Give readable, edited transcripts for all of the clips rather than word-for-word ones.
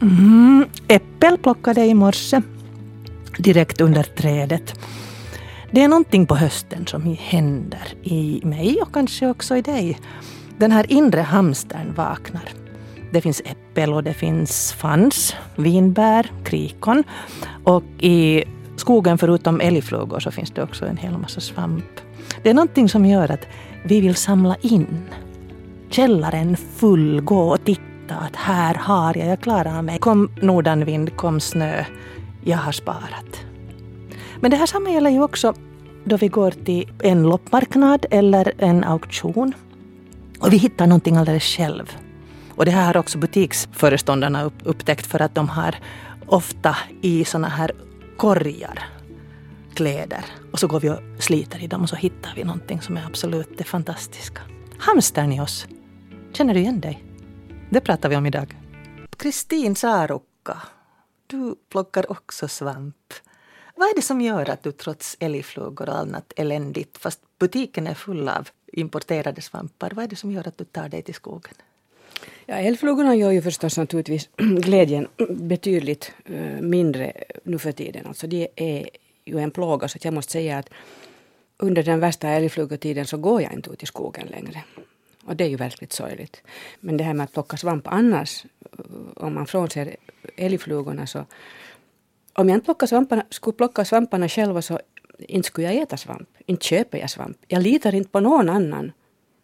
Äppel plockade i morse direkt under trädet. Det är någonting på hösten som händer i mig och kanske också i dig. Den här inre hamstern vaknar. Det finns äppel och det finns fans, vinbär, krikon. Och i skogen förutom älgflugor så finns det också en hel massa svamp. Det är någonting som gör att vi vill samla in. Källaren full, gå och titta att här har jag klarar mig. Kom nordanvind, kom snö, jag har sparat. Men det här samma gäller ju också då vi går till en loppmarknad eller en auktion. Och vi hittar någonting alldeles själv. Och det här har också butiksföreståndarna upptäckt för att de har ofta i såna här korgar kläder. Och så går vi och sliter i dem och så hittar vi någonting som är absolut det fantastiska. Hamstern i oss. Känner du igen dig? Det pratar vi om idag. Kristin Saarukka, du plockar också svamp. Vad är det som gör att du trots älgflugor och annat eländigt, fast butiken är full av importerade svampar, vad är det som gör att du tar dig till skogen? Ja, älgflugorna gör ju förstås naturligtvis glädjen betydligt mindre nu för tiden. Alltså det är ju en plåga, så jag måste säga att under den värsta älgflugotiden så går jag inte ut i skogen längre. Och det är ju verkligt sorgligt. Men det här med att plocka svamp annars, om man frånser älgflugorna så, om jag inte skulle plocka svamparna själva så inte skulle jag äta svamp. Inte köper jag svamp. Jag litar inte på någon annan.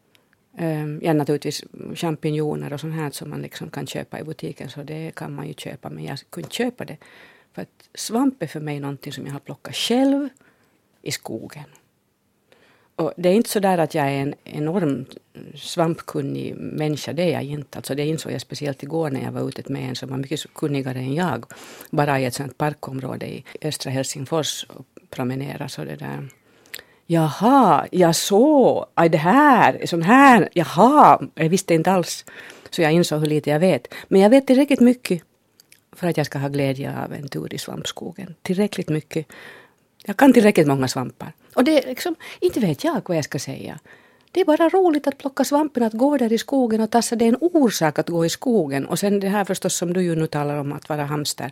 Ja, naturligtvis champinjoner och sånt här som man liksom kan köpa i butiken, så det kan man ju köpa, men jag kunde köpa det. För att svamp är för mig någonting som jag har plockat själv i skogen. Och det är inte så där att jag är en enormt svampkunnig människa, det är jag inte. Alltså det insåg jag speciellt igår när jag var ute med en som var mycket kunnigare än jag. Bara i ett sånt parkområde i östra Helsingfors och promenera så det där. Jaha, jag såg, det här, sån här, jaha, jag visste inte alls. Så jag insåg hur lite jag vet. Men jag vet tillräckligt mycket för att jag ska ha glädje av en tur i svampskogen. Tillräckligt mycket. Jag kan tillräckligt många svampar. Och det är liksom, inte vet jag vad jag ska säga. Det är bara roligt att plocka svampen, att gå där i skogen och tassa. Det är en orsak att gå i skogen. Och sen det här förstås som du ju nu talar om att vara hamster.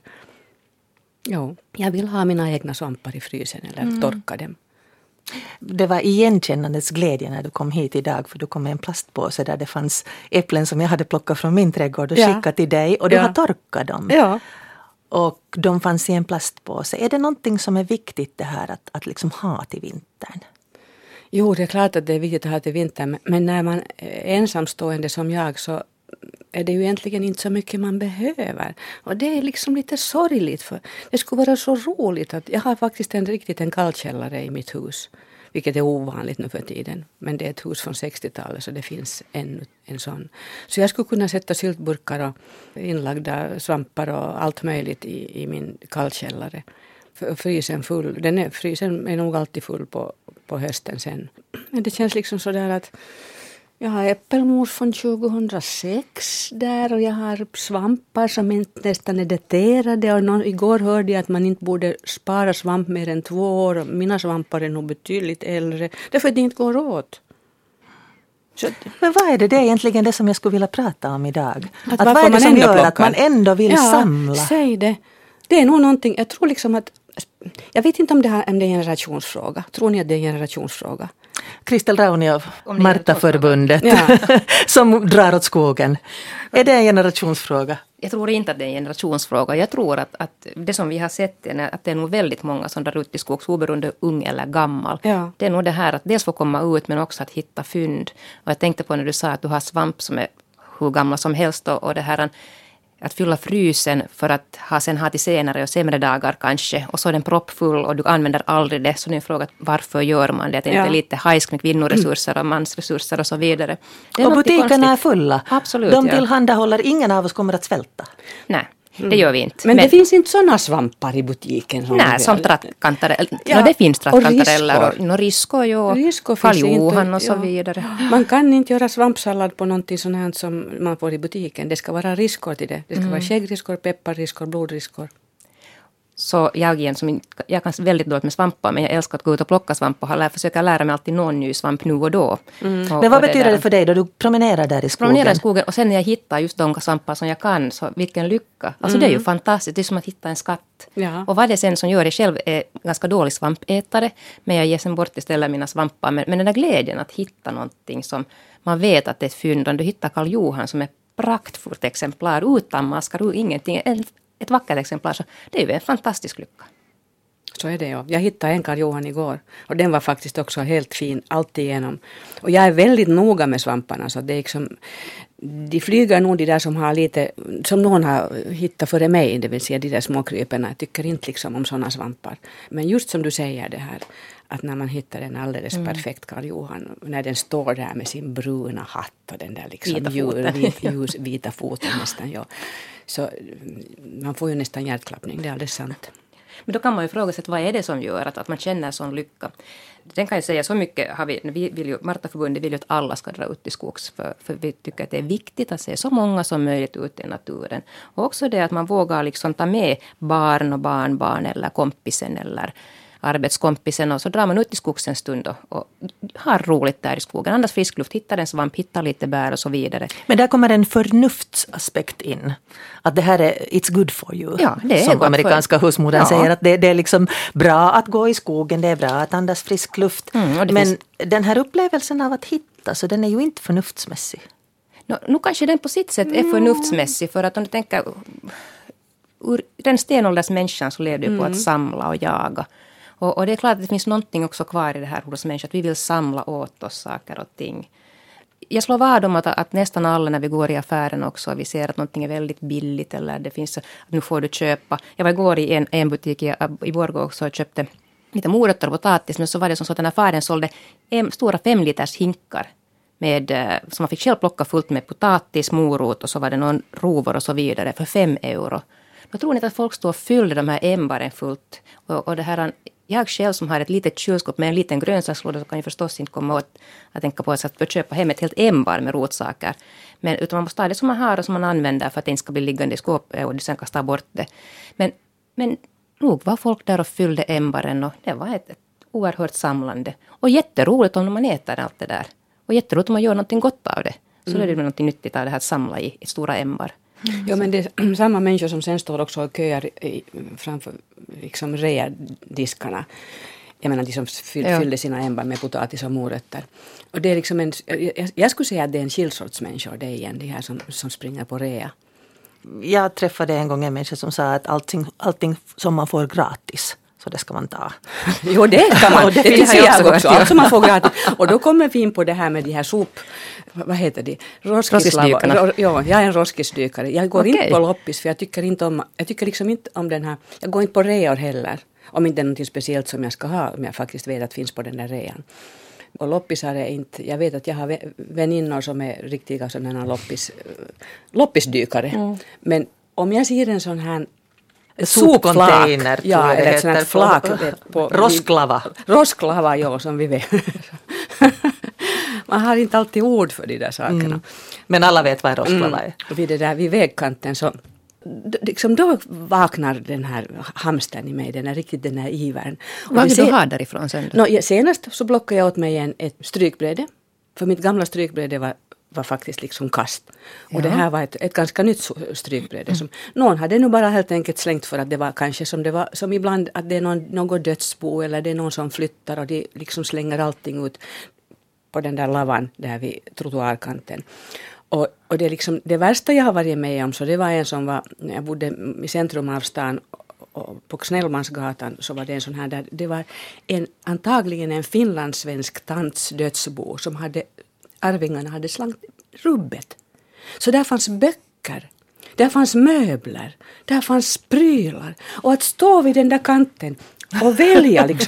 Jo, jag vill ha mina egna svampar i frysen eller torka dem. Det var igenkännandets glädje när du kom hit idag, för du kom med en plastpåse där det fanns äpplen som jag hade plockat från min trädgård och skickat till dig och du har torkat dem. Ja. Och de fanns i en plastpåse. Är det någonting som är viktigt det här att liksom ha till vintern? Jo, det är klart att det är viktigt att ha till vintern, men när man är ensamstående som jag så är det ju egentligen inte så mycket man behöver. Och det är liksom lite sorgligt, för det skulle vara så roligt att jag har faktiskt en kallkällare i mitt hus. Vilket är ovanligt nu för tiden. Men det är ett hus från 60-talet så det finns en sån. Så jag skulle kunna sätta syltburkar och inlagda svampar och allt möjligt i min kallkällare. Frysen full. Frysen är nog alltid full på hösten sen. Men det känns liksom sådär att jag har äppelmos från 2006 där och jag har svampar som inte nästan är daterade. Och igår hörde jag att man inte borde spara svamp mer än 2 år. Och mina svampar är nog betydligt äldre. Därför att det inte går åt. Men vad är det är egentligen det som jag skulle vilja prata om idag? Att vad är det som gör att man ändå vill samla? Säg det. Det är nog någonting, jag tror liksom att, jag vet inte om det är en generationsfråga. Tror ni att det är en generationsfråga? Kristel Raunio, Marta-förbundet, som drar åt skogen. Är det en generationsfråga? Jag tror inte att det är en generationsfråga. Jag tror att det som vi har sett är att det är nog väldigt många som drar ut i skogs, oberoende ung eller gammal. Ja. Det är nog det här att dels få komma ut men också att hitta fynd. Och jag tänkte på när du sa att du har svamp som är hur gamla som helst och det här att fylla frysen för att sen ha till senare och sämre dagar kanske. Och så är den proppfull och du använder aldrig det. Så nu är frågan, varför gör man det? Att det inte är lite hajsk med kvinnoresurser och mansresurser och så vidare. Och butikerna är fulla. Absolut, de tillhandahåller, ingen av oss kommer att svälta. Nej. Det gör vi inte. Men det finns inte sådana svampar i butiken? Nej, som trattkantareller. Ja, det finns trattkantareller. Och riskor. Faljohan och så vidare. Man kan inte göra svampsallad på någonting sånt här som man får i butiken. Det ska vara riskor till det. Det ska vara skäggriskor, pepparriskor, blodriskor. Så jag igen, jag kan väldigt dåligt med svampar, men jag älskar att gå ut och plocka svampar och försöka lära mig alltid någon ny svamp nu och då. Men vad betyder det för dig då du promenerar där i skogen? Promenerar i skogen och sen när jag hittar just de svampar som jag kan, så vilken lycka. Alltså det är ju fantastiskt, det är som att hitta en skatt. Ja. Och vad det sen som gör det, själv är ganska dålig svampätare, men jag ger sen bort istället mina svampar. Men den där glädjen att hitta någonting som man vet att det är ett fynd, om du hittar Karl Johan som är praktfullt exemplar, utan maskar, ingenting, ett vackert exemplar, så det är ju en fantastisk lycka. Så är det ju. Jag hittade en Karl Johan igår och den var faktiskt också helt fin alltigenom. Och jag är väldigt noga med svamparna, så det är liksom, de flyger nog de där som har lite, som någon har hittat före mig, det vill säga de där småkryperna. Jag tycker inte liksom om sådana svampar. Men just som du säger det här, att när man hittar en alldeles perfekt Karl Johan, när den står där med sin bruna hatt och den där liksom vita foten nästan, ja. Så man får ju nästan hjärtklappning, det är alldeles sant. Men då kan man ju fråga sig, vad är det som gör att man känner sån lycka? Den kan jag säga, så mycket har vi vill ju, Martaförbundet vill ju att alla ska dra ut i skogs, för vi tycker att det är viktigt att se så många som möjligt ut i naturen. Och också det att man vågar liksom ta med barn och barnbarn eller kompisen eller arbetskompisen, och så drar man ut i skogs en stund och har roligt där i skogen. Andas frisk luft, hittar en svamp, hittar lite bär och så vidare. Men där kommer en förnuftsaspekt in. Att det här är it's good for you. Ja, det är som amerikanska husmodern säger, att det är liksom bra att gå i skogen, det är bra att andas frisk luft. Men den här upplevelsen av att hitta, så den är ju inte förnuftsmässig. Nu kanske den på sitt sätt är förnuftsmässig, för att om du tänker ur den stenålders människan så levde ju på att samla och jaga. Och det är klart att det finns någonting också kvar i det här hos människan, att vi vill samla åt oss saker och ting. Jag slår vad om att nästan alla när vi går i affären också, vi ser att någonting är väldigt billigt eller det finns, att nu får du köpa. Jag var igår i en butik i Borgå också och köpte lite morötter och potatis, men så var det som så att den affären sålde stora 5 liters hinkar med, som man fick själv plocka fullt med potatis, morot och så var det någon rovor och så vidare för 5 euro. Då tror ni inte att folk står och fyller de här ämbaren fullt, och det här. Jag själv som har ett litet kylskåp med en liten grönsakslåda, så kan ju förstås inte komma åt att tänka på att köpa hem ett helt ämbar med rotsaker. Men utan man måste ha det som man har och som man använder för att det inte ska bli liggande i skåpet och sen kasta bort det. Men nog var folk där och fyllde ämbaren, och det var ett oerhört samlande. Och jätteroligt om man äter allt det där. Och jätteroligt om man gör någonting gott av det. Så det är något nyttigt av det här att samla i stora ämbar. Ja, men det är samma människor som sen står också och köar framför liksom readiskarna. Jag menar, de som fyllde sina ämbar med potatis och morötter. Och det är liksom jag skulle säga att det är en skillsorts människor, det är igen de här som springer på rea. Jag träffade en gång en människa som sa att allting som man får gratis, så det ska man ta. Jo, det kan man. Det finns jag också. Alltså man får gratis. Och då kommer vi in på det här med de här vad heter det? Roskisdykarna. Ja, jag är en roskisdykare. Jag går inte på loppis, för jag tycker liksom inte om den här. Jag går inte på reor heller. Om inte det är något speciellt som jag ska ha, om jag faktiskt vet att finns på den där rean. Och loppisar är inte, jag vet att jag har väninnor som är riktiga sådana loppisdykare. Men om jag ser en sån här sopcontainer, ja, eller ett sånt här flak på rosklava. Rosklava, ja, som vi vet. Man har inte alltid ord för de där sakerna. Men alla vet vad en rosklava är. Vid vägkanten så liksom då vaknar den här hamstern i mig, den här ivern. Vad vill du ha därifrån sen då? Senast så blockade jag åt mig ett strykbräde. För mitt gamla strykbräde var faktiskt liksom kast. Och det här var ett ganska nytt strykbräde. Som någon hade nu bara helt enkelt slängt för att det var kanske som ibland att det är något dödsbo eller det är någon som flyttar och de liksom slänger allting ut på den där lavan där vid trottoarkanten. Och det är liksom det värsta jag har varit med om, så det var en som var, jag bodde i centrum av stan och på Snellmansgatan, så var det en sån här där det var antagligen en finlandssvensk tants dödsbo som arvingarna hade slängt rubbet. Så där fanns böcker, där fanns möbler, där fanns prylar, och att stå vid den där kanten och välja liksom.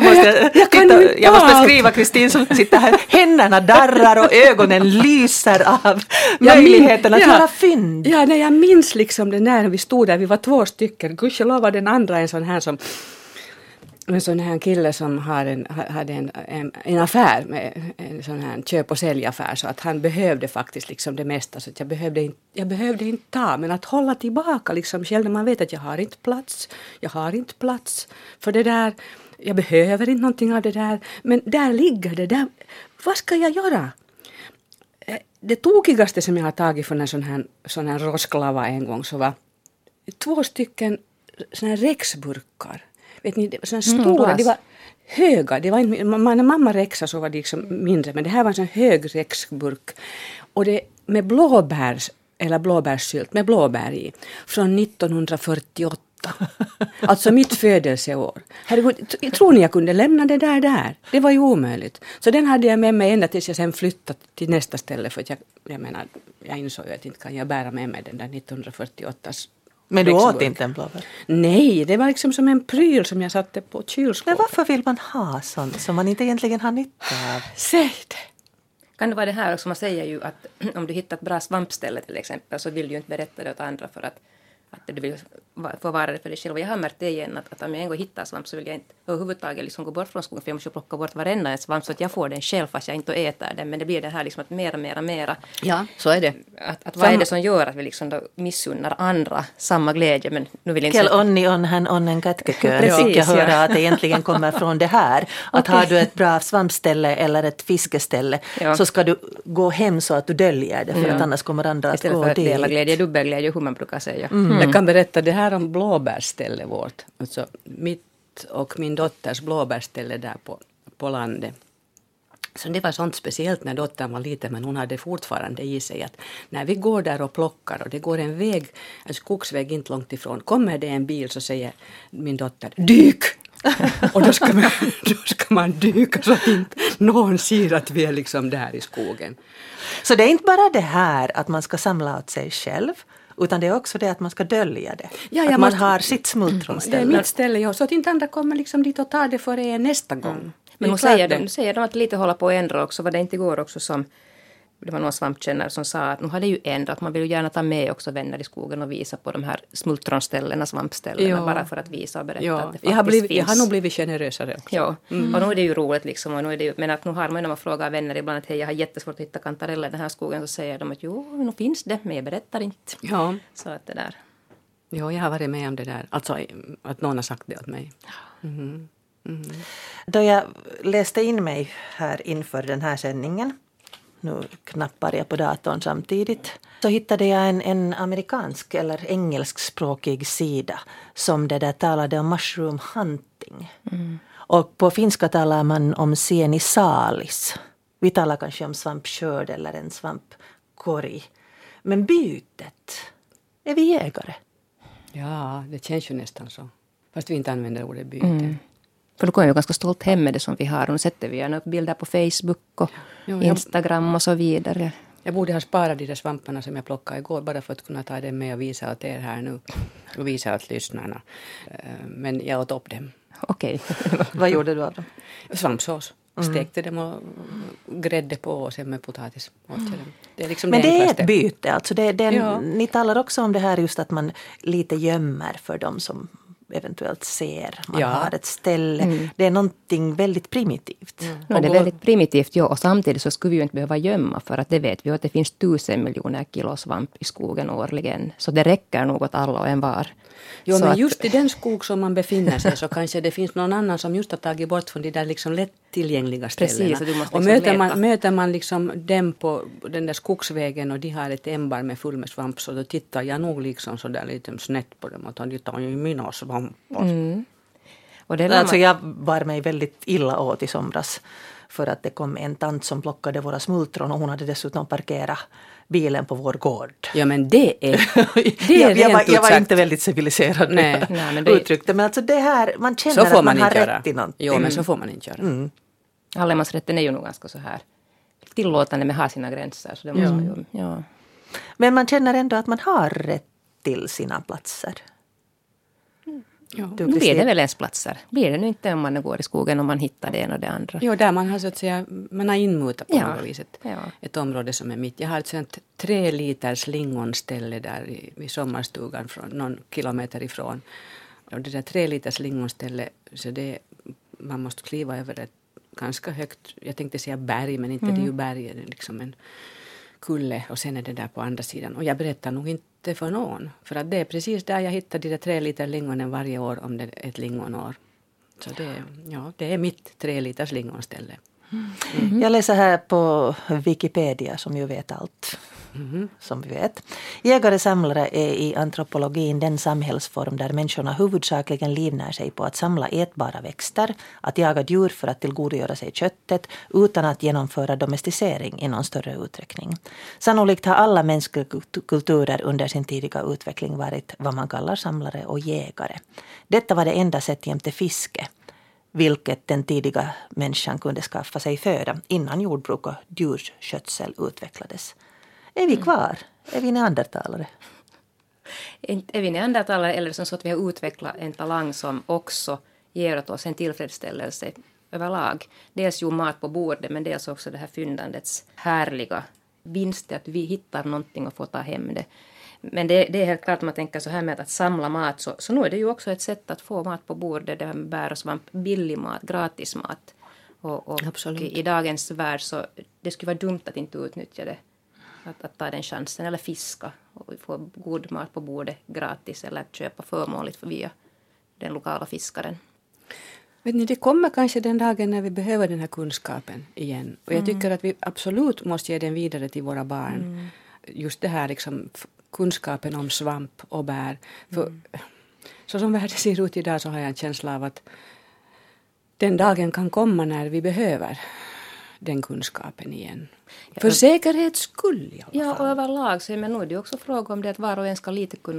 Jag måste skriva Kristin som sitter här. Händerna darrar och ögonen lyser av möjligheten att göra fynd. Ja, när jag minns liksom det när vi stod där, vi var 2 stycken. Gudskelov var den andra en sån här som en sån här kille som hade en affär med en sån här köp- och säljaffär, så att han behövde faktiskt liksom det mesta, så att jag behövde inte ta, men att hålla tillbaka liksom själv när man vet att jag har inte plats för det där, jag behöver inte någonting av det där, men där ligger det där, vad ska jag göra? Det tokigaste som jag har tagit från en sån här rosklava en gång, så var 2 stycken såna här Rexburkar. Vet ni, såna stora, de var höga. Det var inte, när mamma Rexa så var det liksom mindre, men det här var en sån hög Rexburk. Och det med blåbärssylt med blåbär i, från 1948. Alltså mitt födelseår. Herregud, tror ni jag kunde lämna det där? Det var ju omöjligt. Så den hade jag med mig ända tills jag sen flyttade till nästa ställe, för att jag menar, jag insåg ju att inte kan jag bära med mig den där 1948. Men du åt inte en blåbär? Nej, det var liksom som en pryl som jag satte på kylskåpet. Men varför vill man ha sånt som man inte egentligen har nytta av? Säg det! Kan det vara det här också, man säger ju att om du hittar ett bra svampställe till exempel, så vill du ju inte berätta det åt andra för att du vill få vara det för dig själv. Och jag har märkt det igen, att om jag en gång hittar svamp så vill jag inte överhuvudtaget liksom gå bort från skogen, för jag måste plocka bort varenda en svamp så att jag får den själv fast jag inte äter den. Men det blir det här liksom att mera. Ja, så är det. Att vad är det som gör att vi liksom då missunnar andra samma glädje? Men nu vill jag inte Kel onni on hän onnen kätkeköön. Fick jag höra att det egentligen kommer från det här. Att har du ett bra svampställe eller ett fiskeställe, så ska du gå hem så att du döljer det, för att annars kommer andra att istället gå för att dit. dela glädje, dubbelglädje, hur man brukar säga. Jag kan berätta det här om blåbärställe vårt. Alltså mitt och min dotters blåbärställe där på landet. Så det var sånt speciellt när dottern var liten, men hon hade fortfarande i sig att när vi går där och plockar och det går en väg, en skogsväg inte långt ifrån, kommer det en bil så säger min dotter, dyk! Och då ska man dyka så att inte någon ser att vi är liksom där i skogen. Så det är inte bara det här att man ska samla åt sig själv, utan det är också det att man ska dölja det. Ja, att man har sitt smultronställe. Det är mitt ställe, ja, så att inte andra kommer liksom dit och tar det för er nästa gång. Men hon säger de att lite hålla på att ändra också. Var det inte igår också som det var någon svampkännare som sa att nu har det ju ändrat. Man vill ju gärna ta med också vänner i skogen och visa på de här smultronställena, svampställena, bara för att visa och berätta att det faktiskt finns. Jag har nog blivit generösare också. Ja, och nu är det ju roligt liksom. Och nu är det ju, men att nu har man när man frågar vänner ibland att hej, jag har jättesvårt att hitta kantareller i den här skogen, så säger de att jo, nu finns det, men jag berättar inte. Ja. Så att det där. Ja, jag har varit med om det där. Alltså att någon har sagt det åt mig. Då jag läste in mig här inför den här sändningen, nu knappar jag på datorn samtidigt, så hittade jag en amerikansk eller engelskspråkig sida som det där talade om mushroom hunting. Och på finska talar man om sienisalis. Vi talar kanske om svampskörd eller en svampkorg. Men bytet, är vi jägare? Ja, det känns ju nästan så. Fast vi inte använder ordet byte. För då kommer jag ganska stolt hem med det som vi har. Och nu sätter vi gärna upp bilder på Facebook och Instagram och så vidare. Jag borde ha sparat de där svamparna som jag plockade igår, bara för att kunna ta dem med och visa åt er här nu. Och visa åt lyssnarna. Men jag åt upp dem. Okej. Vad gjorde du av dem? Svampsås. Stekte dem och grädde på och sen med potatis. Det är liksom men det är enklaste. ett byte. Alltså ni talar också om det här just att man lite gömmer för dem som eventuellt ser. Man har ett ställe. Det är någonting väldigt primitivt. Ja, det är väldigt primitivt, ja. Och samtidigt så skulle vi ju inte behöva gömma, för att det vet vi att det finns 1000 miljoner kilo svamp i skogen årligen. Så det räcker nog åt alla och en var. Jo, så men att, just i den skog som man befinner sig så kanske det finns någon annan som just har tagit bort från de där liksom lättillgängliga ställena. Precis, och du måste och liksom möter man liksom dem på den där skogsvägen och de har ett ämbar med full med svamp, så då tittar jag nog liksom så där lite snett på dem och de tar ju mina svampar. Och det alltså jag var mig väldigt illa åt i somras för att det kom en tant som plockade våra smultron och hon hade dessutom parkerat bilen på vår gård. Ja, men det är jag var inte väldigt civiliserad. Nej, men uttryckte. Men alltså det här, man känner att man har rätt i någonting. Jo, men så får man inte göra. Allemansrätten är ju nog ganska så här tillåtande med har sina gränser. Så det måste man ju, Men man känner ändå att man har rätt till sina platser. Ja. Nu blir det väl ens platser. Blir det nu inte om man går i skogen och man hittar det ena och det andra? Jo, där man har så att säga, man har inmutat på något viset. Ett område som är mitt. Jag har ett sånt 3 liters lingonställe där vid sommarstugan från någon kilometer ifrån. Och det där 3 liters lingonstället, så det, man måste kliva över ett ganska högt, jag tänkte säga berg, men inte det är ju berg, det är liksom en kulle och sen är det där på andra sidan. Och jag berättar nog inte för någon, för att det är precis där jag hittar de där 3 liter lingonen varje år om det är ett lingonår. Så det är mitt 3 liters lingonställe. Jag läser här på Wikipedia som ju vet allt. Som vi vet. Jägare-samlare är i antropologin den samhällsform där människorna huvudsakligen livnär sig på att samla ätbara växter, att jaga djur för att tillgodogöra sig köttet utan att genomföra domesticering i någon större utsträckning. Sannolikt har alla mänskliga kulturer under sin tidiga utveckling varit vad man kallar samlare och jägare. Detta var det enda sätt jämte fiske, vilket den tidiga människan kunde skaffa sig föda innan jordbruk och djurskötsel utvecklades. Är vi kvar? Är vi neandertalare? Är vi neandertalare eller som så att vi har utvecklat en talang som också ger oss en tillfredsställelse överlag. Dels ju mat på bordet men dels också det här fyndandets härliga vinst att vi hittar någonting och får ta hem det. Men det är helt klart att man tänker så här med att samla mat så nu är det ju också ett sätt att få mat på bordet. Det här med bär och svamp, billig mat, gratis mat. Och i dagens värld så det skulle vara dumt att inte utnyttja det. Att ta den chansen eller fiska och få god mat på bordet gratis eller köpa förmånligt via den lokala fiskaren. Vet ni, det kommer kanske den dagen när vi behöver den här kunskapen igen. Och jag tycker att vi absolut måste ge den vidare till våra barn. Just det här liksom kunskapen om svamp och bär. För så som världen ser ut idag så har jag en känsla av att den dagen kan komma när vi behöver den kunskapen igen. För säkerhets skull i alla fall. Ja, och överlag så men nu är det också fråga om det att var och en ska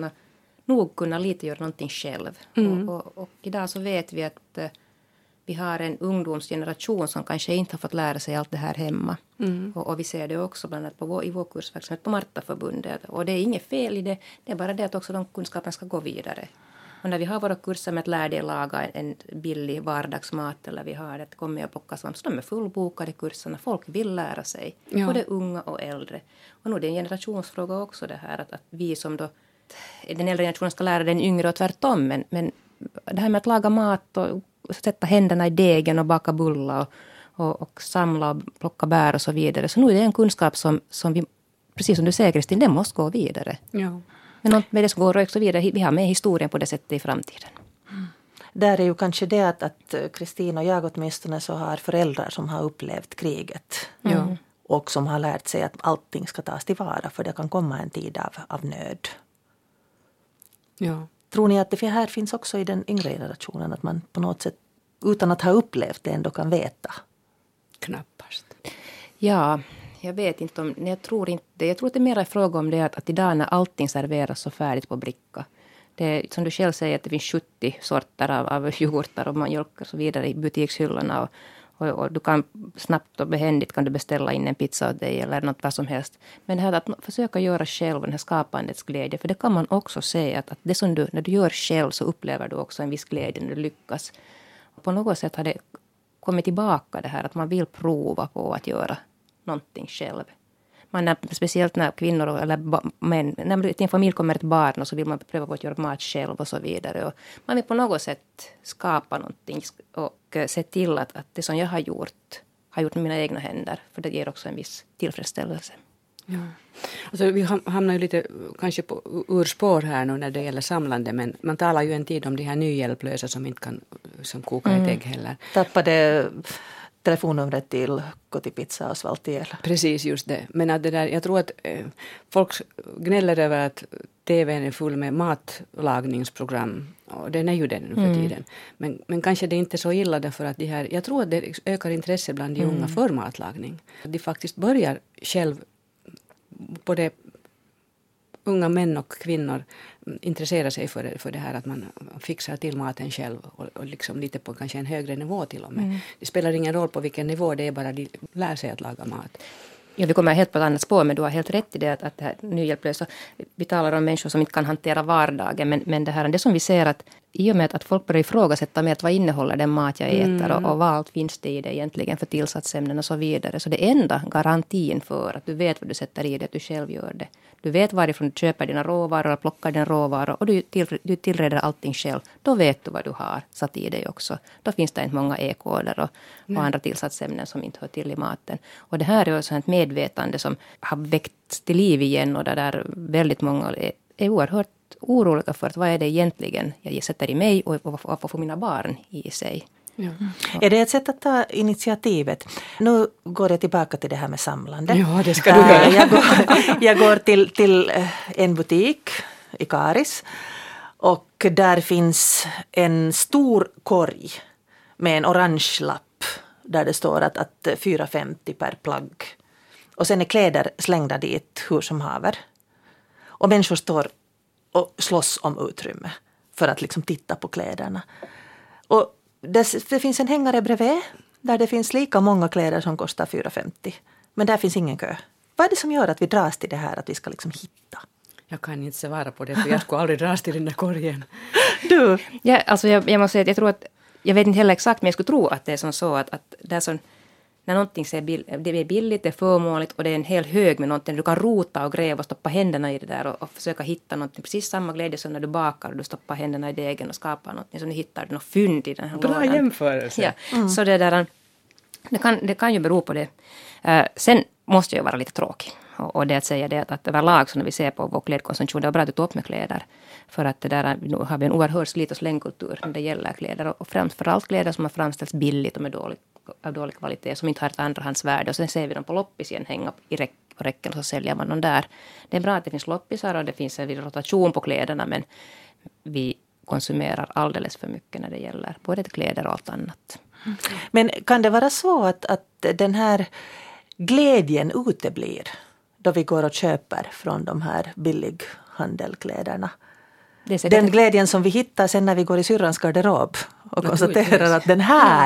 kunna lite göra någonting själv. Och idag så vet vi att vi har en ungdomsgeneration som kanske inte har fått lära sig allt det här hemma. Och vi ser det också bland annat i vår kursverksamhet på Martaförbundet. Och det är inget fel i det, det är bara det att också de kunskapen ska gå vidare. Och när vi har våra kurser med att lära dig laga en billig vardagsmat eller vi har det kommer och plocka svamp så de är fullbokade kurserna. Folk vill lära sig, både unga och äldre. Och nu är det en generationsfråga också det här att vi som då den äldre generationen ska lära den yngre och tvärtom. Men det här med att laga mat och sätta händerna i degen och baka bullar och samla och plocka bär och så vidare. Så nu är det en kunskap som vi, precis som du säger Kristin, den måste gå vidare. Ja. Men med det som går också vidare, vi har med historien på det sättet i framtiden. Där är ju kanske det att Kristin och jag åtminstone så har föräldrar som har upplevt kriget. Och som har lärt sig att allting ska tas tillvara för det kan komma en tid av nöd. Ja. Tror ni att det här finns också i den yngre generationen att man på något sätt utan att ha upplevt det ändå kan veta? Knappast. Ja, jag vet inte om, jag tror inte, jag tror att det är mer en fråga om det att idag när allting serveras så färdigt på bricka. Det är, som du själv säger att det finns 70 sorter av yoghurtar och mjölk och så vidare i butikshyllorna och du kan snabbt och behändigt kan du beställa in en pizza åt dig eller något vad som helst. Men det här att försöka göra själv den här skapandets glädje, för det kan man också se att det som du, när du gör själv så upplever du också en viss glädje när du lyckas. På något sätt har det kommit tillbaka det här att man vill prova på att göra någonting själv. Speciellt när kvinnor eller män, när till en familj kommer ett barn och så vill man pröva på att göra mat själv och så vidare. Och man vill på något sätt skapa någonting och se till att det som jag har gjort med mina egna händer. För det ger också en viss tillfredsställelse. Ja. Alltså, vi hamnar ju lite kanske på urspår här nu när det gäller samlande, men man talar ju en tid om de här nyhjälplösa som inte kan som koka ett ägg heller. Tappade telefonnumret till Kotipizza och Svaltiel. Precis, just det. Men att det där, jag tror att folk gnäller över att tvn är full med matlagningsprogram. Och den är ju den nu för tiden. Men kanske det är inte så illa därför att jag tror att det ökar intresse bland de unga för matlagning. De faktiskt börjar själv, både unga män och kvinnor intresserar sig för det här att man fixar till maten själv och liksom lite på kanske en högre nivå till och med. Det spelar ingen roll på vilken nivå, det är bara de lär sig att laga mat. Ja, vi kommer helt på ett annat spår, men du har helt rätt i det att det här nyhjälplösa, vi talar om människor som inte kan hantera vardagen, men det som vi ser att i och med att folk börjar ifrågasätta med att vad innehåller den mat jag äter och vad allt finns det i det egentligen för tillsatsämnen och så vidare. Så det enda garantin för att du vet vad du sätter i det, att du själv gör det, du vet varifrån du köper dina råvaror eller plockar dina råvaror och du tillreder allting själv, då vet du vad du har satt i dig också. Då finns det inte många e-koder och andra tillsatsämnen som inte hör till i maten. Och det här är också ett medvetande som har väckts till liv igen och där väldigt många är oerhört oroliga för att vad är det egentligen jag sätter i mig och vad får mina barn i sig. Ja. Är det ett sätt att ta initiativet? Nu går jag tillbaka till det här med samlande. Ja, det ska du göra. Jag går till en butik i Karis och där finns en stor korg med en orange lapp där det står att 4,50 per plagg. Och sen är kläder slängda dit hur som haver. Och människor står och slåss om utrymme för att liksom titta på kläderna. Och det finns en hängare bredvid där det finns lika många kläder som kostar 4,50. Men där finns ingen kö. Vad är det som gör att vi dras till det här att vi ska liksom hitta? Jag kan inte svara på det för jag skulle aldrig dras till den där korgen. Du? Ja, alltså jag måste säga att jag tror att, jag vet inte heller exakt men jag skulle tro att det är som så att det är som, när någonting det är billigt, det är förmånligt och det är en hel hög med någonting. Du kan rota och gräva och stoppa händerna i det där och försöka hitta någonting. Precis samma glädje som när du bakar och du stoppar händerna i degen och skapar någonting. Så nu hittar du något fynd i den här lådan. Bra jämförelse. Ja. Så det kan ju bero på det. Sen måste jag vara lite tråkig. Och det att säga det att överlag så när vi ser på vår klädkonsumtion, det är bra att du tar upp med kläder. För att det där, nu har vi en oerhörd slit- och slängkultur när det gäller kläder. Och framförallt kläder som har framställts billigt och med av dålig kvalitet som inte har ett andrahandsvärde. Och sen ser vi dem på loppis igen hänga i räcken och så säljer man dem där. Det är bra att det finns loppisar och det finns en rotation på kläderna men vi konsumerar alldeles för mycket när det gäller både kläder och allt annat. Men kan det vara så att den här glädjen uteblir då vi går och köper från de här billighandelkläderna? Den glädjen som vi hittar sen när vi går i syrrans garderob och konstaterar att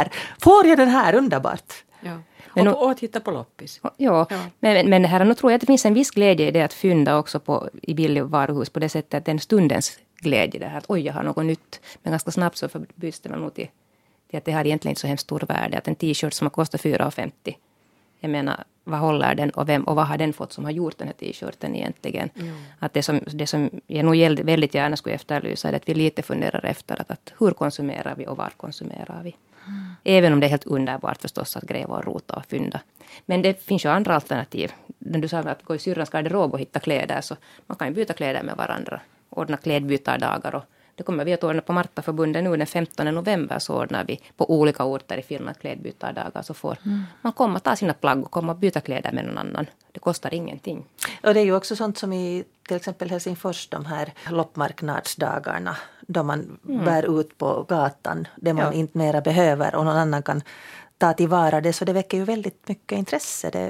får jag den här underbart. Ja. Men och titta på loppis. Ja. Men här nu tror jag att det finns en viss glädje i det att fynda också i billig varuhus på det sättet att den stundens glädje det här att oj jag har något nytt. Men ganska snabbt så förbyts det nog till att det har egentligen inte så hemskt stor värde. Att en t-shirt som har kostat 4,50. Jag menar, vad håller den och vad har den fått som har gjort den här t-shirten egentligen? Att det som jag nog väldigt gärna skulle efterlysa är att vi lite funderar efter att hur konsumerar vi och var konsumerar vi? Även om det är helt underbart förstås att gräva och rota och fynda. Men det finns ju andra alternativ. När du sa att gå i syrrans garderob och hitta kläder så man kan ju byta kläder med varandra. Ordna klädbytardagar och det kommer vi att ordna på Martaförbundet nu den 15 november så ordnar vi på olika orter i Finland klädbytardagar så får man komma ta sina plagg och komma och byta kläder med någon annan. Det kostar ingenting. Och det är ju också sånt som i till exempel Helsingfors de här loppmarknadsdagarna då man bär ut på gatan det man inte mera behöver och någon annan kan ta tillvara det så det väcker ju väldigt mycket intresse.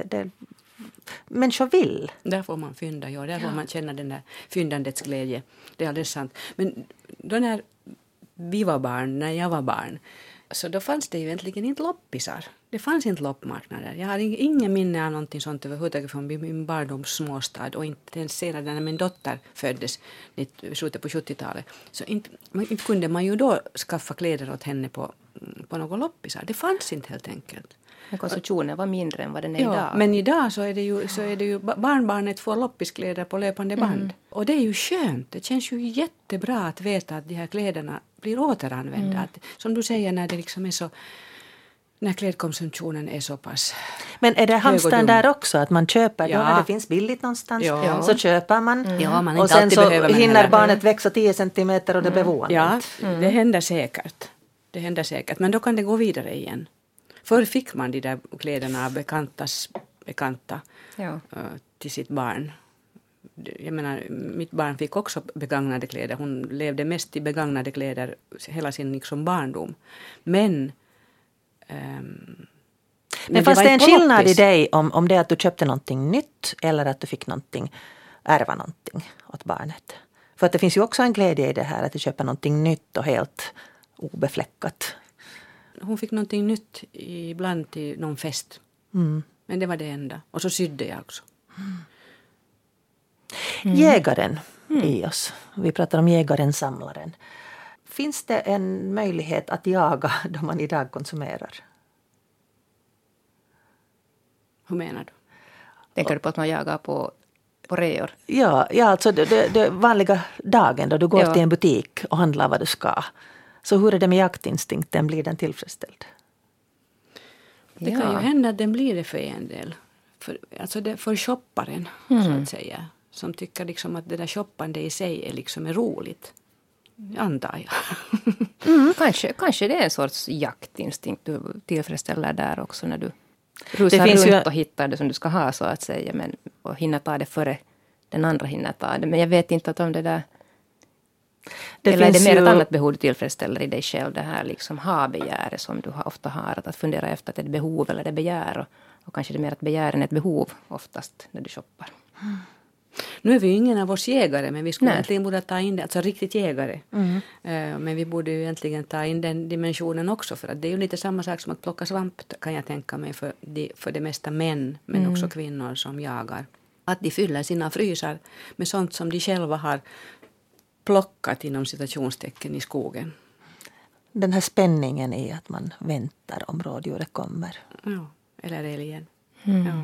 Människor vill. Där får man fynda, där får man känna den där fyndandets glädje. Det är alldeles sant. Men då när vi var barn, när jag var barn, så då fanns det ju egentligen inte loppisar. Det fanns inte loppmarknader. Jag har ingen minne av någonting sånt överhuvudtaget från min barndoms småstad och inte ens senare när min dotter föddes i slutet på 70-talet. Så inte kunde man ju då skaffa kläder åt henne på några loppisar. Det fanns inte helt enkelt. Men konsumtionen var mindre än vad den är idag. Men idag så är det ju barnbarnet får loppiskläder på löpande band. Och det är ju skönt. Det känns ju jättebra att veta att de här kläderna blir återanvända. Att, som du säger när det liksom är så när klädkonsumtionen är så pass. Men är det hamstern där också att man köper då när det finns billigt någonstans så köper man. Ja, man och sen så hinner barnet växa 10 centimeter och det blir våande. Ja, det händer säkert. Det händer säkert. Men då kan det gå vidare igen. Förr fick man de där kläderna av bekanta till sitt barn. Jag menar, mitt barn fick också begagnade kläder. Hon levde mest i begagnade kläder hela sin liksom barndom. Men fanns det en skillnad i dig om det att du köpte någonting nytt eller att du fick ärva någonting åt barnet? För att det finns ju också en glädje i det här att du köper någonting nytt och helt obefläckat. Hon fick någonting nytt ibland till någon fest. Men det var det enda. Och så sydde jag också. Jägaren i oss. Vi pratar om jägaren, samlaren. Finns det en möjlighet att jaga då man idag konsumerar? Hur menar du? Tänker du på att man jagar på på reor. Ja, alltså det vanliga dagen då du går till en butik och handlar vad du ska. Så hur är det med jaktinstinkten? Blir den tillfredsställd? Det kan ju hända att den blir det för en del. För shopparen, så att säga. Som tycker liksom att det där shoppande i sig är roligt. Antar jag. Kanske det är en sorts jaktinstinkt du tillfredsställer där också när du rusar runt och hittar det som du ska ha, så att säga. Och hinner ta det före den andra hinner ta det. Men jag vet inte att om det där... Eller är det mer ett annat behov du tillfredsställer i dig själv? Det här liksom ha-begäret som du ofta har. Att fundera efter att det är ett behov eller det är begär. Och kanske det är mer att begär än ett behov oftast när du shoppar. Nu är vi ju ingen av oss jägare, men vi skulle egentligen borde ta in det, alltså riktigt jägare. Men vi borde ju egentligen ta in den dimensionen också, för att det är ju lite samma sak som att plocka svamp, kan jag tänka mig, för det mesta män, men också kvinnor som jagar. Att de fyller sina frysar med sånt som de själva har plockat inom citationstecken i skogen. Den här spänningen i att man väntar om rådjuret kommer. Ja, eller älgen. Ja.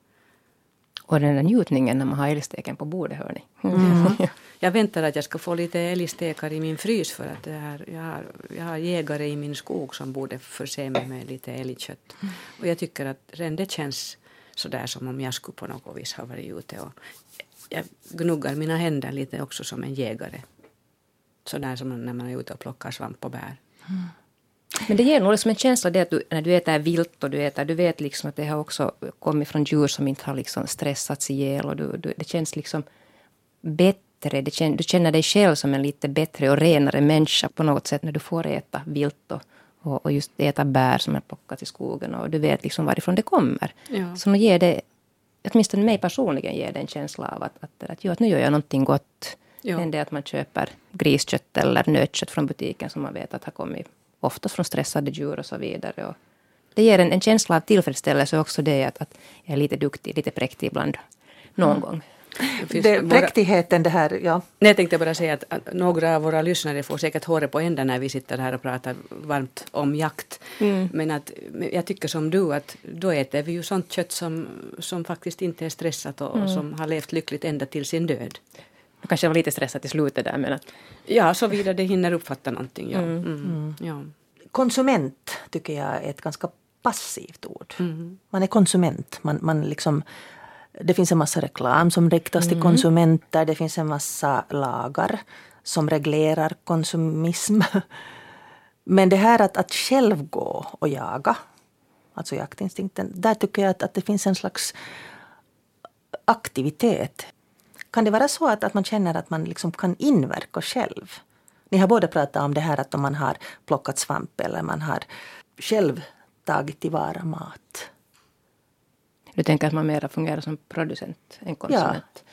Och den där njutningen när man har älgsteken på bordet, hör ni. Jag väntar att jag ska få lite älgstekar i min frys, för att jag har jägare i min skog som borde förse mig med lite älgkött. Och jag tycker att redan det känns sådär som om jag skulle på något vis ha varit ute. Och jag gnuggar mina händer lite också som en jägare. Sådär som när man är ute och plockar svamp och bär. Men det ger nog liksom en känsla det att du, när du äter vilt och du vet liksom att det har också kommit från djur som inte har liksom stressats ihjäl, och det känns liksom bättre. Du känner dig själv som en lite bättre och renare människa på något sätt när du får äta vilt och just äta bär som är plockat i skogen, och du vet liksom varifrån det kommer. Ja. Så nu ger det, åtminstone mig personligen, ger det en känsla av att nu gör jag någonting gott. Ja. Än det att man köper griskött eller nötkött från butiken som man vet att har kommit oftast från stressade djur och så vidare. Och det ger en känsla av tillfredsställelse också, det att jag är lite duktig, lite präktig ibland någon gång. Präktigheten det här, ja. Jag tänkte bara säga att några av våra lyssnare får säkert håret på ändan när vi sitter här och pratar varmt om jakt. Men att jag tycker som du, att då äter vi ju sånt kött som faktiskt inte är stressat och som har levt lyckligt ända till sin död. Jag kanske var lite stressad i slutet där, men att... Ja, så vidare det hinner uppfatta någonting. Ja. Ja. Konsument tycker jag är ett ganska passivt ord. Man är konsument. Man liksom, det finns en massa reklam som riktas till konsumenter. Det finns en massa lagar som reglerar konsumism. Men det här att själv gå och jaga, alltså jaktinstinkten, där tycker jag att det finns en slags aktivitet. Kan det vara så att man känner att man liksom kan inverka själv? Ni har både pratat om det här att om man har plockat svamp eller man har själv tagit tillvara mat. Du tänker att man mer fungerar som producent än konsument?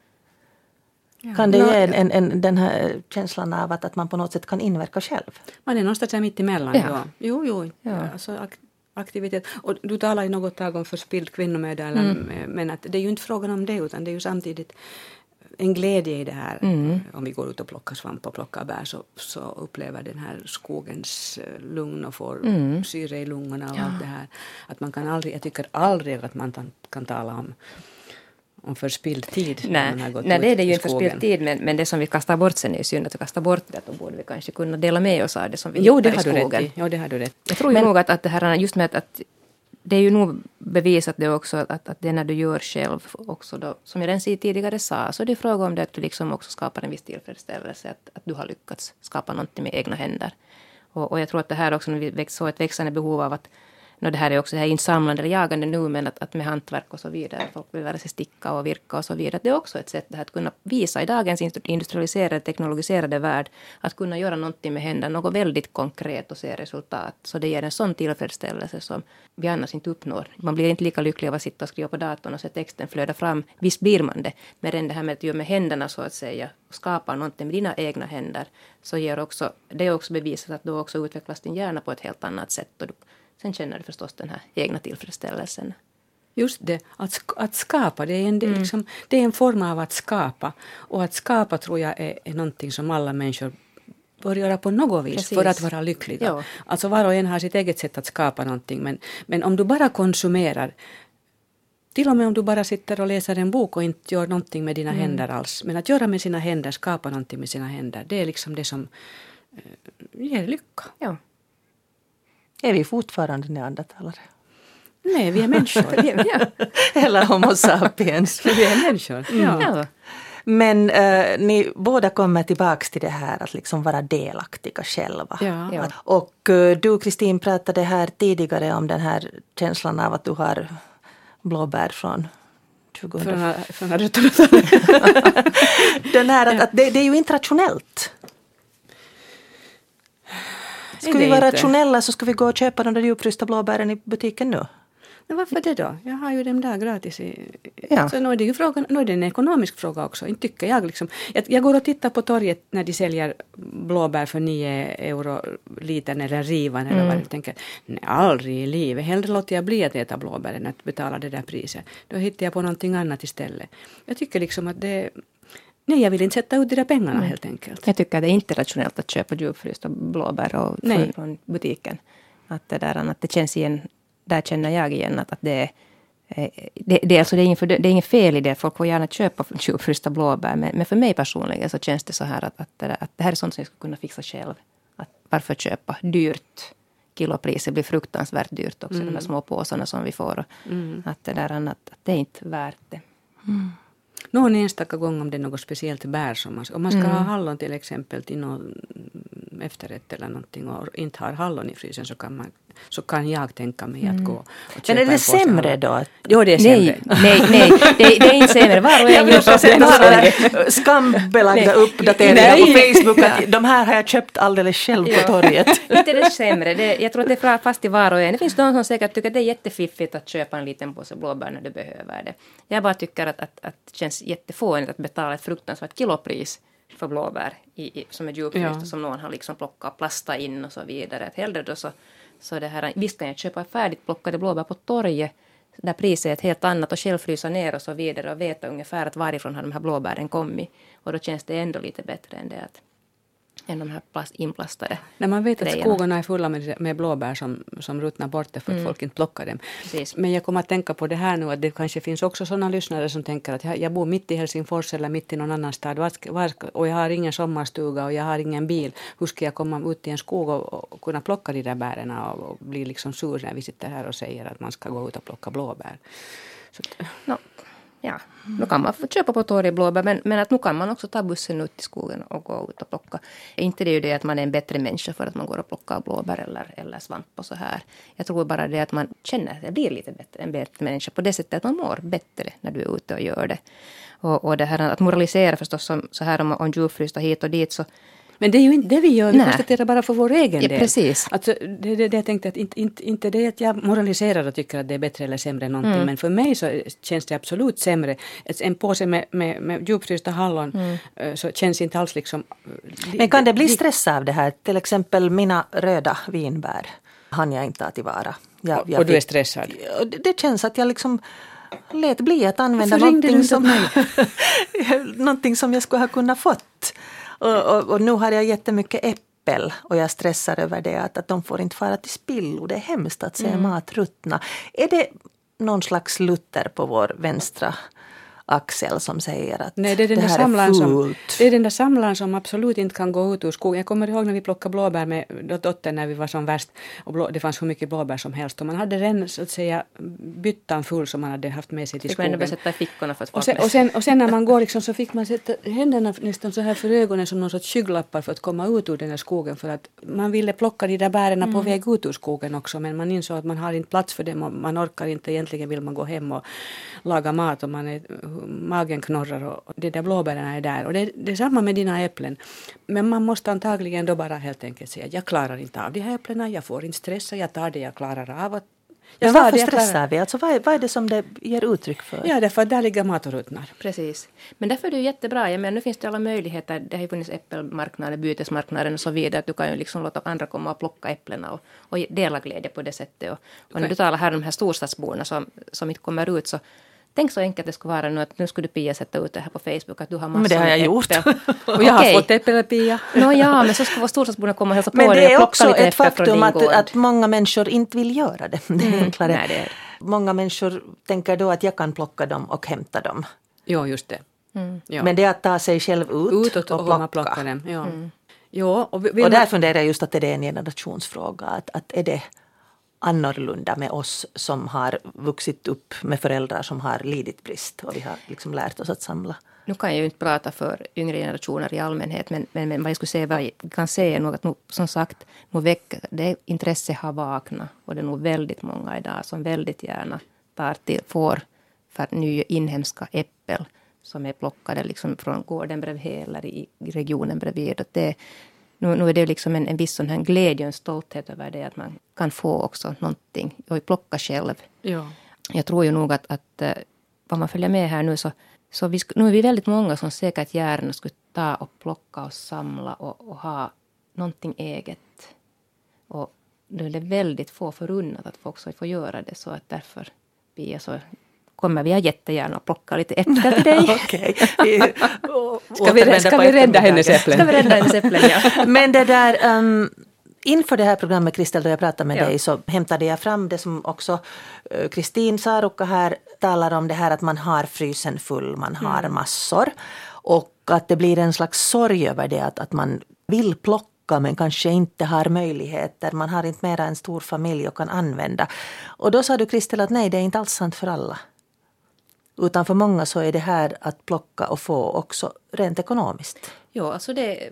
Ja. Kan det ge den här känslan av att man på något sätt kan inverka själv? Man är någonstans mitt emellan. Ja. Jo. Ja. Alltså, aktivitet. Och du talar i något tag om förspilld kvinnomöda, men att det är ju inte frågan om det, utan det är ju samtidigt en glädje i det här. Om vi går ut och plockar svamp och plockar bär, så upplever den här skogens lugn och får syre i lungorna och allt det här. Att man kan aldrig, jag tycker aldrig att man kan tala om förspilld tid. Nej, det är det ju inte förspilld tid, men det som vi kastar bort sen är ju synd att vi kastar bort det, då borde vi kanske kunna dela med oss av det som vi hittar i skogen. Jo, det har du rätt. Jag tror ju nog att det här, just med att det är ju nog bevisat det också att det när du gör själv också då, som jag redan tidigare sa, så det är fråga om det att du liksom också skapar en viss tillfredsställelse, att du har lyckats skapa någonting med egna händer. Och jag tror att det här också, när vi så ett växande behov av att det här är också det här insamlande eller jagande nu, men att med hantverk och så vidare, folk vill lära sig sticka och virka och så vidare. Det är också ett sätt det här att kunna visa i dagens industrialiserade, teknologiserade värld, att kunna göra någonting med händerna, något väldigt konkret och se resultat. Så det ger en sån tillfredsställelse som vi annars inte uppnår. Man blir inte lika lycklig av att sitta och skriva på datorn och se texten flöda fram. Visst blir man det, men det här med att göra med händerna så att säga, och skapa någonting med dina egna händer, så ger också, det är också bevisat att då också utvecklas din hjärna på ett helt annat sätt, och sen känner du förstås den här egna tillfredsställelsen. Just det, att skapa, det är en form av att skapa. Och att skapa tror jag är någonting som alla människor bör göra på något vis. Precis. För att vara lyckliga. Ja. Alltså var och en har sitt eget sätt att skapa någonting. Men om du bara konsumerar Till och med om du bara sitter och läser en bok och inte gör någonting med dina händer alls. Men att göra med sina händer, skapa någonting med sina händer, det är liksom det som ger lycka. Ja. Är vi fortfarande neandertalare? Nej, vi är människor. Eller homo sapiens. Vi är människor, Ja. Men ni båda kommer tillbaka till det här att liksom vara delaktiga själva. Ja. Och du, Kristin, pratade här tidigare om den här känslan av att du har blåbär från 2000. Från rötterna. Den här att det är ju inte rationellt. Ska vi vara rationella så ska vi gå och köpa de där djupfrysta blåbären i butiken nu. Men varför det då? Jag har ju dem där gratis. Ja. Så nu är det ju frågan, nu är det en ekonomisk fråga också. Inte tycker jag liksom. Jag går och tittar på torget när de säljer blåbär för 9 euro litern eller rivan eller vad jag tänker. Nej, aldrig i livet. Hellre låter jag bli att äta blåbär än att betala det där priset. Då hittar jag på någonting annat istället. Jag tycker liksom att det... Nej, jag vill inte sätta ut de där pengarna helt enkelt. Jag tycker att det är inte rationellt att köpa djupfrysta blåbär från butiken. Att det känns igen, där känner jag igen att det är inget fel i det. Folk får gärna köpa djupfrysta blåbär. Men för mig personligen så känns det så här att det här är sånt som jag skulle kunna fixa själv. Att varför köpa dyrt? Kilopriset blir fruktansvärt dyrt också. De här små påsarna som vi får. Att det är inte värt det. Någon enstaka gång om det är något speciellt bär som om man ska ha hallon till exempel till någon efterrätt eller någonting och inte har hallon i frysen så kan jag tänka mig att gå och köpa. Men är det sämre då? Jo, det är sämre. Nej, det är inte sämre. Var och en gör så. Skambelagda uppdateringar på Facebook att de här har jag köpt alldeles själv på torget. Inte det sämre. Jag tror att det är fast i var och en. Det finns de som säkert tycker att det är jättefiffigt att köpa en liten påse blåbär när du behöver det. Jag bara tycker att det känns jättefånigt att betala ett fruktansvärt kilopris för blåbär som är djupfrysta som någon har liksom plockat, plastat in och så vidare. Att hellre då så det här, visst kan jag köpa färdigt plockade blåbär på torget där priset är ett helt annat och själv frysa ner och så vidare och veta ungefär att varifrån har de här blåbären kommit. Och då känns det ändå lite bättre än det än de här inplastade. När man vet att grejerna. skogarna är fulla med blåbär som ruttnar bort för att folk inte plockar dem. Precis. Men jag kommer att tänka på det här nu att det kanske finns också sådana lyssnare som tänker att jag bor mitt i Helsingfors eller mitt i någon annan stad och jag har ingen sommarstuga och jag har ingen bil. Hur ska jag komma ut i en skog och kunna plocka de där bären och bli liksom sur när vi sitter här och säger att man ska gå ut och plocka blåbär. Så Ja, nu kan man få köpa på torget blåbär, men att nu kan man också ta bussen ut i skogen och gå ut och plocka. Inte det är ju det att man är en bättre människa för att man går och plockar blåbär eller svamp och så här. Jag tror bara det att man känner att det blir lite bättre, en bättre människa på det sättet att man mår bättre när du är ute och gör det. Och det här att moralisera förstås så här om djurfrysta hit och dit så. Men det är ju inte det vi gör, vi konstaterar bara för vår egen del. Precis. Alltså, det jag tänkte att inte det att jag moraliserar och tycker att det är bättre eller sämre än någonting, men för mig så känns det absolut sämre. En påse med djupfrysta hallon så känns inte alls liksom... Men kan det bli stress av det här? Till exempel mina röda vinbär hann jag inte ta tillvara. Och du är stressad? Det känns att jag liksom... lät bli att använda någonting som jag skulle ha kunnat fått. Och nu har jag jättemycket äppel och jag stressar över det att de får inte fara till spillo. Det är hemskt att se mat ruttna. Är det någon slags Luther på vår vänstra axel som säger att nej, det är den där samlaren som absolut inte kan gå ut ur skogen. Jag kommer ihåg när vi plockade blåbär med dottern när vi var som värst och det fanns hur mycket blåbär som helst och man hade redan så att säga byttan full som man hade haft med sig till skogen. Man ändå sätta i fickorna för att och sen när man går liksom, så fick man sätta händerna nästan så här för ögonen som någon sorts skygglappar för att komma ut ur den här skogen för att man ville plocka de där bärerna på väg ut ur skogen också men man insåg att man har inte plats för dem och man orkar inte, egentligen vill man gå hem och laga mat och magen knorrar och det där blåbärarna är där. Och det är samma med dina äpplen. Men man måste antagligen då bara helt enkelt säga att jag klarar inte av de här äpplena, jag får inte stressa, jag tar det jag klarar av. Men varför stressar vi? Alltså, vad är det som det ger uttryck för? Ja, därför att där ligger mat och ruttnar. Precis. Men därför är det jättebra. Jag menar, nu finns det alla möjligheter. Det har ju funnits äppelmarknader, bytesmarknader och så vidare. Att du kan ju liksom låta andra komma och plocka äpplena och dela glädje på det sättet. Och när du talar här om de här storstadsborna som inte kommer ut så tänk så enkelt det skulle vara nu att nu skulle du Pia sätta ut det här på Facebook att du har massor men det har jag gjort. Och jag har fått äppel Pia. Ja, men så ska vara storstadsborna komma och hälsa på dig. Men det är och också ett faktum att många människor inte vill göra det. Det är enklare. Nej, Många människor tänker då att jag kan plocka dem och hämta dem. Jo, just det. Ja. Men det är att ta sig själv ut och plocka dem. Ja. Ja, och där funderar jag just att det är en generationsfråga. Att är det annorlunda med oss som har vuxit upp med föräldrar som har lidit brist och vi har liksom lärt oss att samla. Nu kan jag ju inte prata för yngre generationer i allmänhet, men vad jag skulle säga, vad jag kan säga är nog att som sagt, det intresse har vaknat och det är nog väldigt många idag som väldigt gärna får för nya inhemska äppel som är plockade liksom från gården bredvid eller i regionen bredvid. Nu är det liksom en viss sån här glädje och en stolthet över det att man kan få också någonting och plocka själv. Ja. Jag tror ju nog att vad man följer med här nu så nu är vi väldigt många som säkert gärna skulle ta och plocka och samla och ha någonting eget. Och nu är det väldigt få förunnat att folk ska få göra det, så att därför kommer vi jättegärna att plocka lite äpplen till dig. Okej. Ska vi rädda hennes äpplen? Ska vi rädda hennes äpplen, ja. Men det där, inför det här programmet, Kristel, då jag pratade med dig, så hämtade jag fram det som också Kristin Saarukka här talar om, det här att man har frysen full, man har massor. Och att det blir en slags sorg över det, att man vill plocka men kanske inte har möjligheter. Man har inte mera en stor familj och kan använda. Och då sa du, Kristel, att nej, det är inte alls sant för alla. Utan för många så är det här att plocka och få också rent ekonomiskt. Ja, alltså